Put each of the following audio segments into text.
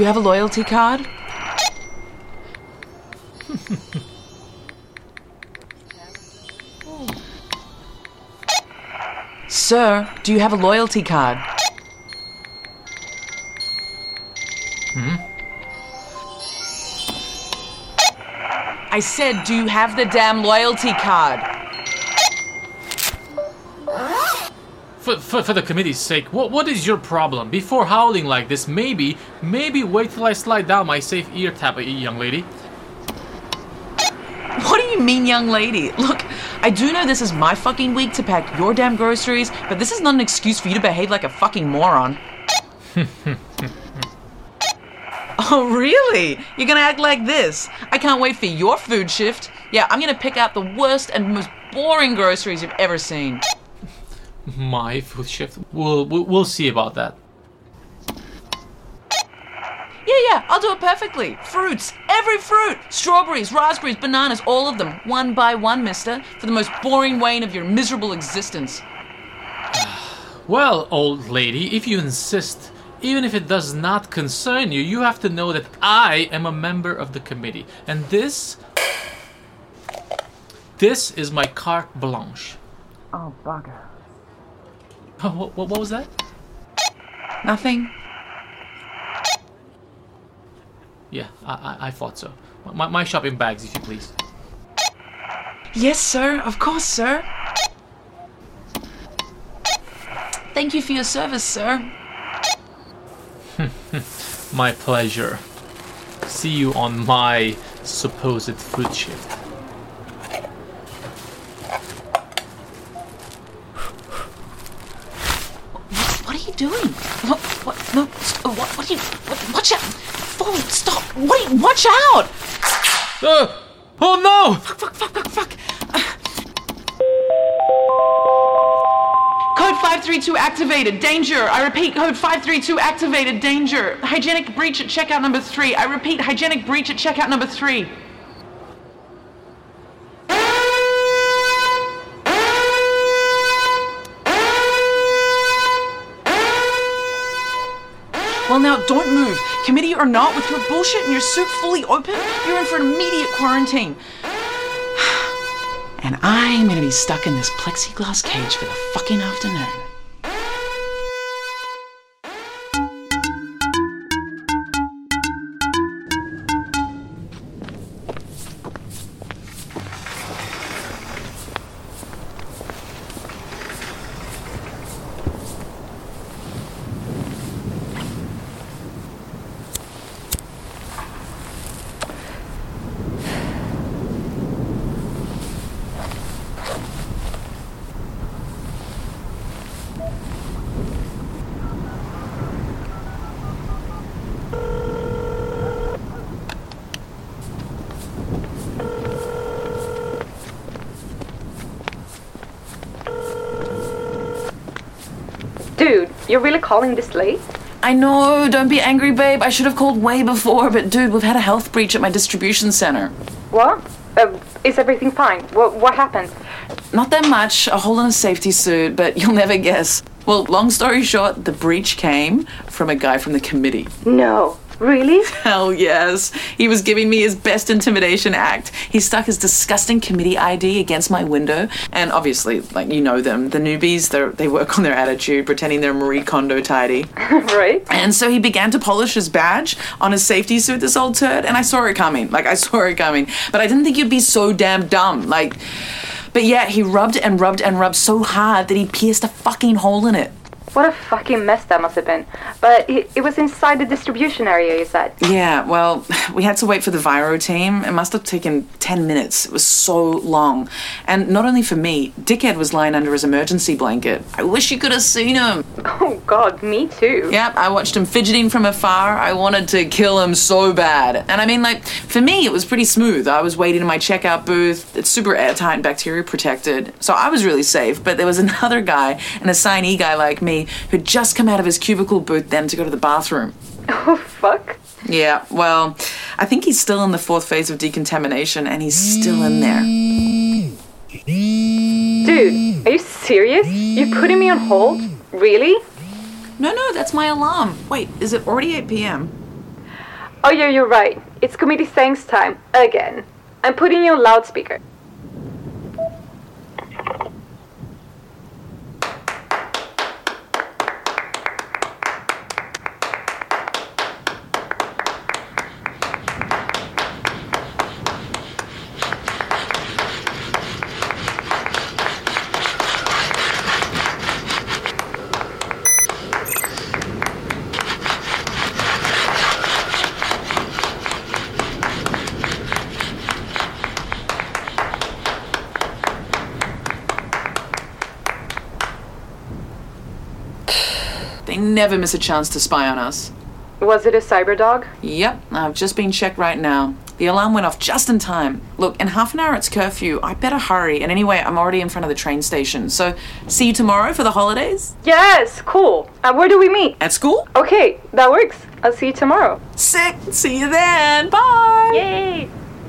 do you have a loyalty card? Sir, do you have a loyalty card? I said, do you have the damn loyalty card? For the committee's sake, what is your problem? Before howling like this, maybe wait till I slide down my safe ear tap, young lady. What do you mean, young lady? Look, I do know this is my fucking week to pack your damn groceries, but this is not an excuse for you to behave like a fucking moron. Oh, really? You're gonna act like this? I can't wait for your food shift. Yeah, I'm gonna pick out the worst and most boring groceries you've ever seen. My food shift? We'll see about that. Yeah, I'll do it perfectly. Fruits, every fruit. Strawberries, raspberries, bananas, all of them. One by one, mister, for the most boring wane of your miserable existence. Well, old lady, if you insist, even if it does not concern you, you have to know that I am a member of the committee. And this is my carte blanche. Oh, bugger. What was that? Nothing. Yeah, I thought so. My shopping bags, if you please. Yes, sir. Of course, sir. Thank you for your service, sir. My pleasure. See you on my supposed food shift. What are you doing? What? No. What are you? Watch out! Fall! Stop! Watch out! Oh no! Fuck! Code 532 activated. Danger. I repeat, code 532 activated. Danger. Hygienic breach at checkout number 3. I repeat, hygienic breach at checkout number 3. Well, now, don't move. Committee or not, with your bullshit and your suit fully open, you're in for an immediate quarantine. And I'm gonna be stuck in this plexiglass cage for the fucking afternoon. Dude, you're really calling this late? I know, don't be angry, babe. I should have called way before, but dude, we've had a health breach at my distribution center. What? Is everything fine? What happened? Not that much, a hole in a safety suit, but you'll never guess. Well, long story short, the breach came from a guy from the committee. No. Really? Hell yes. He was giving me his best intimidation act. He stuck his disgusting committee ID against my window. And obviously, like, you know them, the newbies, they work on their attitude, pretending they're Marie Kondo tidy. Right. And so he began to polish his badge on his safety suit, this old turd, and I saw it coming. But I didn't think you'd be so damn dumb. But yeah, he rubbed and rubbed and rubbed so hard that he pierced a fucking hole in it. What a fucking mess that must have been. But it was inside the distribution area, you said? Yeah, well, we had to wait for the Viro team. It must have taken 10 minutes. It was so long. And not only for me, Dickhead was lying under his emergency blanket. I wish you could have seen him. Oh, God, me too. Yep, I watched him fidgeting from afar. I wanted to kill him so bad. And I mean, for me, it was pretty smooth. I was waiting in my checkout booth. It's super airtight and bacteria protected. So I was really safe. But there was another guy, an assignee guy like me, who'd just come out of his cubicle booth then to go to the bathroom. Oh, fuck. Yeah, well, I think he's still in the 4th phase of decontamination, and he's still in there. Dude, are you serious? You're putting me on hold? Really? No, that's my alarm. Wait, is it already 8 p.m.? Oh yeah, you're right. It's committee thanks time. Again. I'm putting you on loudspeaker. They never miss a chance to spy on us. Was it a cyber dog? Yep, I've just been checked right now. The alarm went off just in time. Look, in half an hour it's curfew. I better hurry. And anyway, I'm already in front of the train station. So, see you tomorrow for the holidays? Yes, cool. Where do we meet? At school? Okay, that works. I'll see you tomorrow. Sick. See you then. Bye. Yay!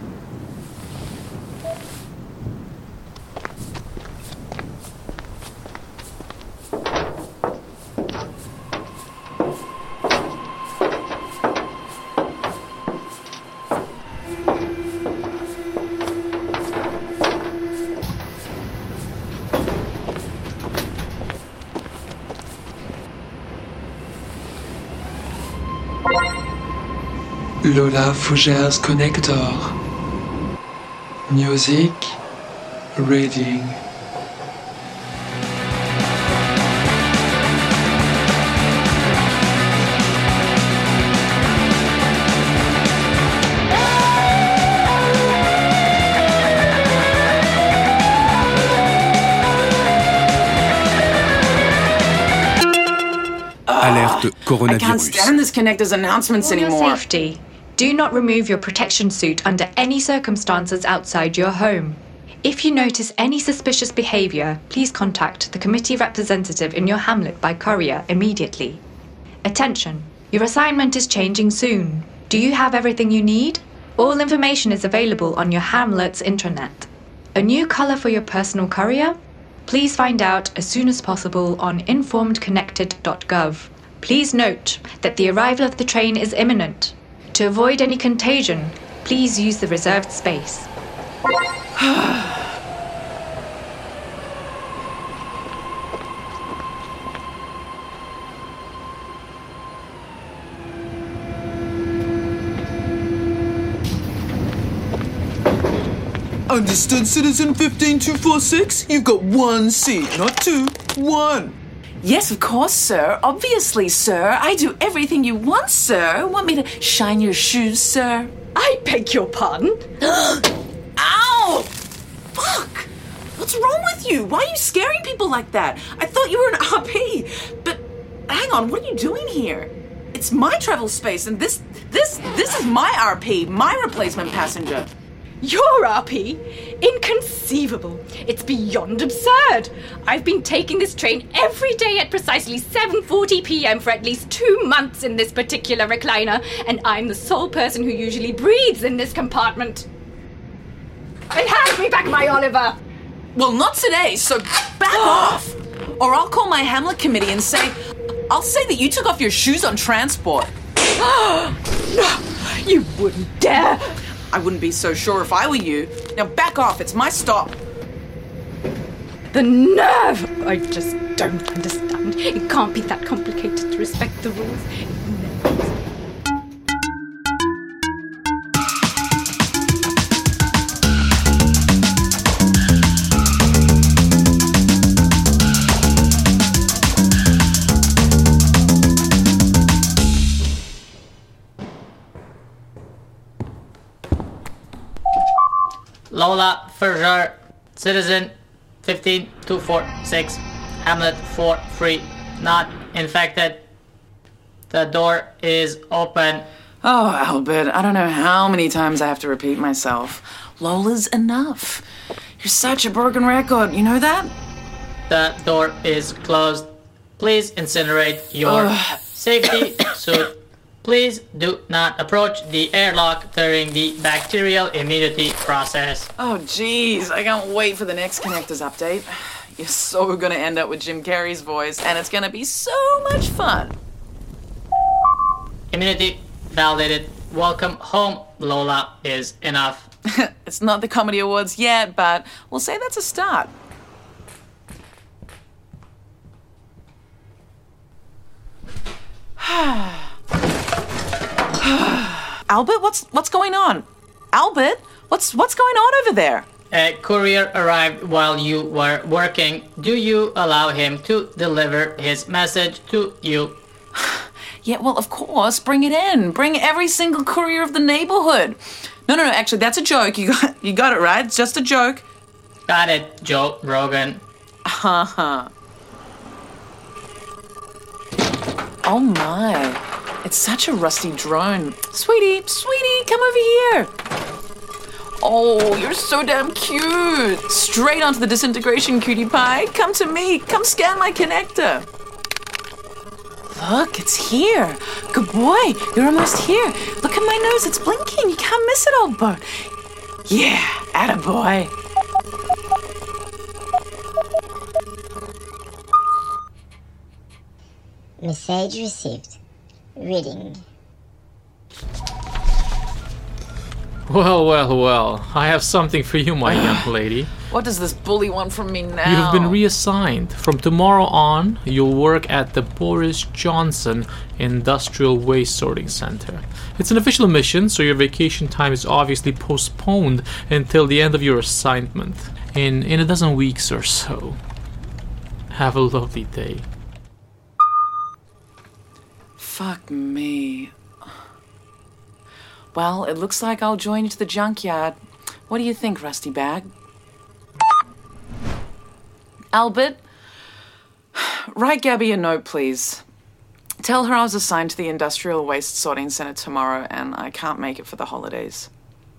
Lola Fougère's Connector. Music, reading. Alerte I coronavirus. can't stand this Connector's announcements For your anymore. safety, do not remove your protection suit under any circumstances outside your home. If you notice any suspicious behavior, please contact the committee representative in your hamlet by courier immediately. Attention, your assignment is changing soon. Do you have everything you need? All information is available on your hamlet's intranet. A new color for your personal courier? Please find out as soon as possible on informedconnected.gov. Please note that the arrival of the train is imminent. To avoid any contagion, please use the reserved space. Understood, Citizen 15246? You've got one seat, not two. One. Yes, of course, sir. Obviously, sir. I do everything you want, sir. Want me to shine your shoes, sir? I beg your pardon? Ow! Fuck! What's wrong with you? Why are you scaring people like that? I thought you were an RP. But hang on, what are you doing here? It's my travel space, and this is my RP, my replacement passenger. Your RP? Inconceivable. It's beyond absurd. I've been taking this train every day at precisely 7:40 p.m. for at least 2 months in this particular recliner, and I'm the sole person who usually breathes in this compartment. And hand me back my Oliver! Well, not today, so back off! Or I'll call my Hamlet committee and I'll say that you took off your shoes on transport. No, you wouldn't dare! I wouldn't be so sure if I were you. Now back off, it's my stop. The nerve! I just don't understand. It can't be that complicated to respect the rules. It never is. Lola Fougère, Citizen 15246, Hamlet 43, not infected. The door is open. Oh, Albert, I don't know how many times I have to repeat myself. Lola's enough. You're such a broken record, you know that? The door is closed. Please incinerate your safety suit. Please do not approach the airlock during the bacterial immunity process. Oh, jeez, I can't wait for the next Connectors update. You're so gonna end up with Jim Carrey's voice, and it's gonna be so much fun. Immunity validated. welcome home, Lola, is enough. It's not the Comedy Awards yet, but we'll say that's a start. Albert, what's going on? Albert, what's going on over there? A courier arrived while you were working. Do you allow him to deliver his message to you? Yeah, well, of course. Bring it in. Bring every single courier of the neighborhood. No, actually, that's a joke. You got it right. It's just a joke. Got it, Joe Rogan. Uh-huh. Oh my. It's such a rusty drone. Sweetie, come over here. Oh, you're so damn cute. Straight onto the disintegration, cutie pie. Come to me. Come scan my connector. Look, it's here. Good boy. You're almost here. Look at my nose. It's blinking. You can't miss it, old boat. Yeah, attaboy. Message received. Reading. Well. I have something for you, my young lady. What does this bully want from me now? You have been reassigned. From tomorrow on, you'll work at the Boris Johnson Industrial Waste Sorting Center. It's an official mission, so your vacation time is obviously postponed until the end of your assignment, in a dozen weeks or so. Have a lovely day. Fuck me. Well, it looks like I'll join you to the junkyard. What do you think, Rusty Bag? Albert, write Gabby a note, please. Tell her I was assigned to the Industrial Waste Sorting Center tomorrow and I can't make it for the holidays.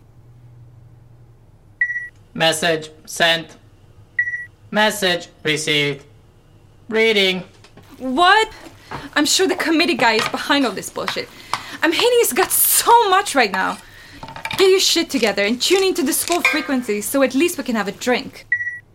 Message sent. Message received. Reading. What? I'm sure the committee guy is behind all this bullshit. I'm hating his guts so much right now. Get your shit together and tune into the school frequency so at least we can have a drink.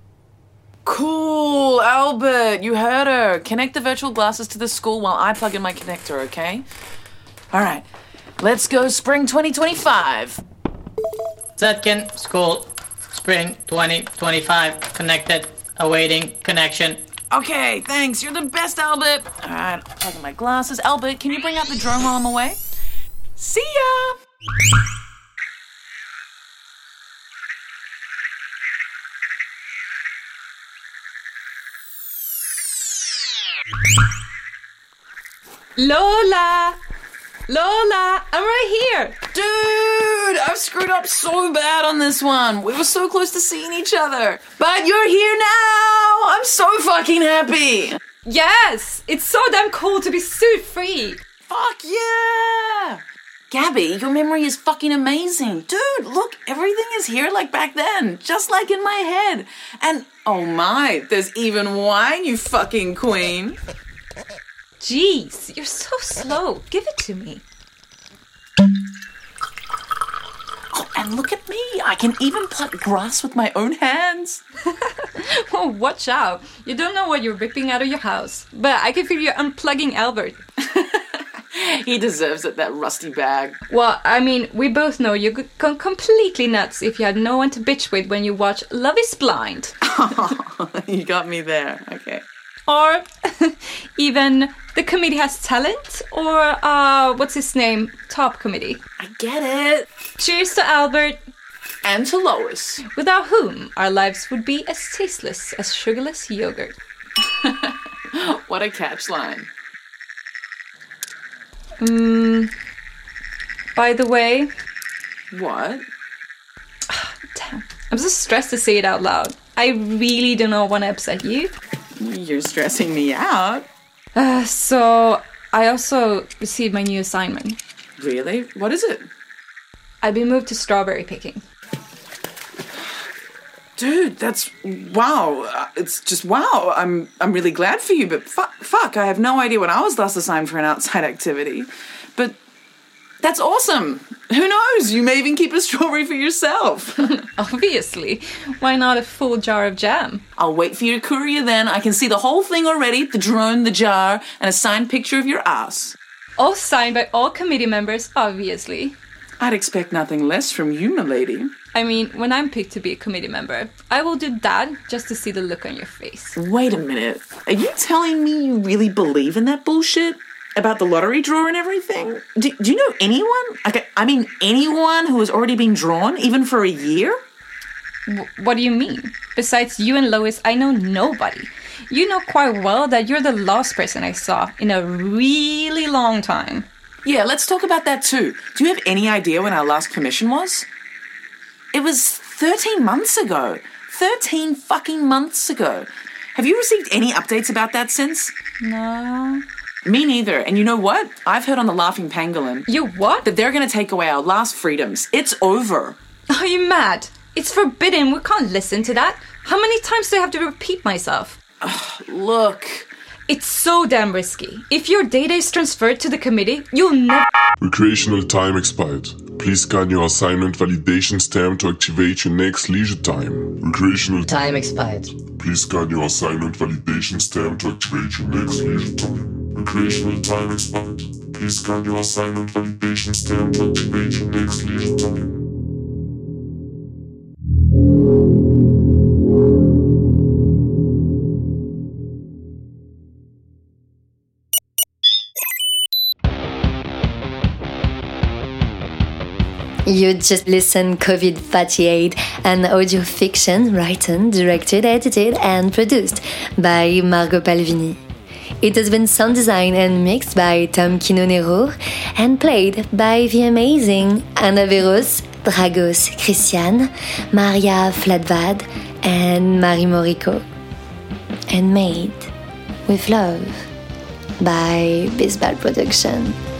Cool, Albert, you heard her. Connect the virtual glasses to the school while I plug in my connector, okay? All right, let's go Spring 2025. Zetkin, school, Spring 2025, connected, awaiting connection. Okay, thanks. You're the best, Albert. All right, I'll plug in my glasses. Albert, can you bring out the drone while I'm away? See ya! Lola, I'm right here. Dude, I've screwed up so bad on this one. We were so close to seeing each other. But you're here now. I'm so fucking happy. Yes, it's so damn cool to be suit-free. Fuck yeah. Gabby, your memory is fucking amazing. Dude, look, everything is here like back then, just like in my head. And, oh my, there's even wine, you fucking queen. Jeez, you're so slow. Give it to me. Oh, and look at me. I can even pluck grass with my own hands. Oh, watch out. You don't know what you're ripping out of your house. But I can feel you unplugging Albert. He deserves it, that rusty bag. Well, I mean, we both know you could go completely nuts if you had no one to bitch with when you watch Love is Blind. You got me there. Okay. Or even The Committee Has Talent, or what's his name? Top Committee. I get it. Cheers to Albert. And to Lois. Without whom our lives would be as tasteless as sugarless yogurt. What a catch line. By the way... What? Damn. I'm so stressed to say it out loud. I really do not want to upset you. You're stressing me out. So, I also received my new assignment. Really? What is it? I've been moved to strawberry picking. Dude, that's... wow. It's just wow. I'm really glad for you, but fuck, I have no idea when I was last assigned for an outside activity. But that's awesome. Who knows? You may even keep a strawberry for yourself. Obviously. Why not a full jar of jam? I'll wait for your courier then. I can see the whole thing already. The drone, the jar, and a signed picture of your ass. All signed by all committee members, obviously. I'd expect nothing less from you, milady. I mean, when I'm picked to be a committee member, I will do that just to see the look on your face. Wait a minute. Are you telling me you really believe in that bullshit? About the lottery draw and everything? Do you know anyone? I mean, anyone who has already been drawn, even for a year? What do you mean? Besides you and Lois, I know nobody. You know quite well that you're the last person I saw in a really long time. Yeah, let's talk about that too. Do you have any idea when our last commission was? It was 13 months ago. 13 fucking months ago. Have you received any updates about that since? No. Me neither. And you know what? I've heard on the Laughing Pangolin. You what? That they're going to take away our last freedoms. It's over. Are you mad? It's forbidden. We can't listen to that. How many times do I have to repeat myself? Look. It's so damn risky. If your data is transferred to the committee, you'll never... Recreational time expired. Please scan your assignment validation stamp to activate your next leisure time. Recreational Time expired. Please scan your assignment validation stamp to activate your next leisure time. Recreational time expired. Please scan your assignment validation stamp to activate your next leisure time. You just listened COVID-48, an audio fiction written, directed, edited, and produced by Margot Palvini. It has been sound designed and mixed by Tom Quinonero and played by the amazing Anna Veros, Dragos Christian, Maria Flatvad, and Marie Morico. And made with love by Bisbal Production.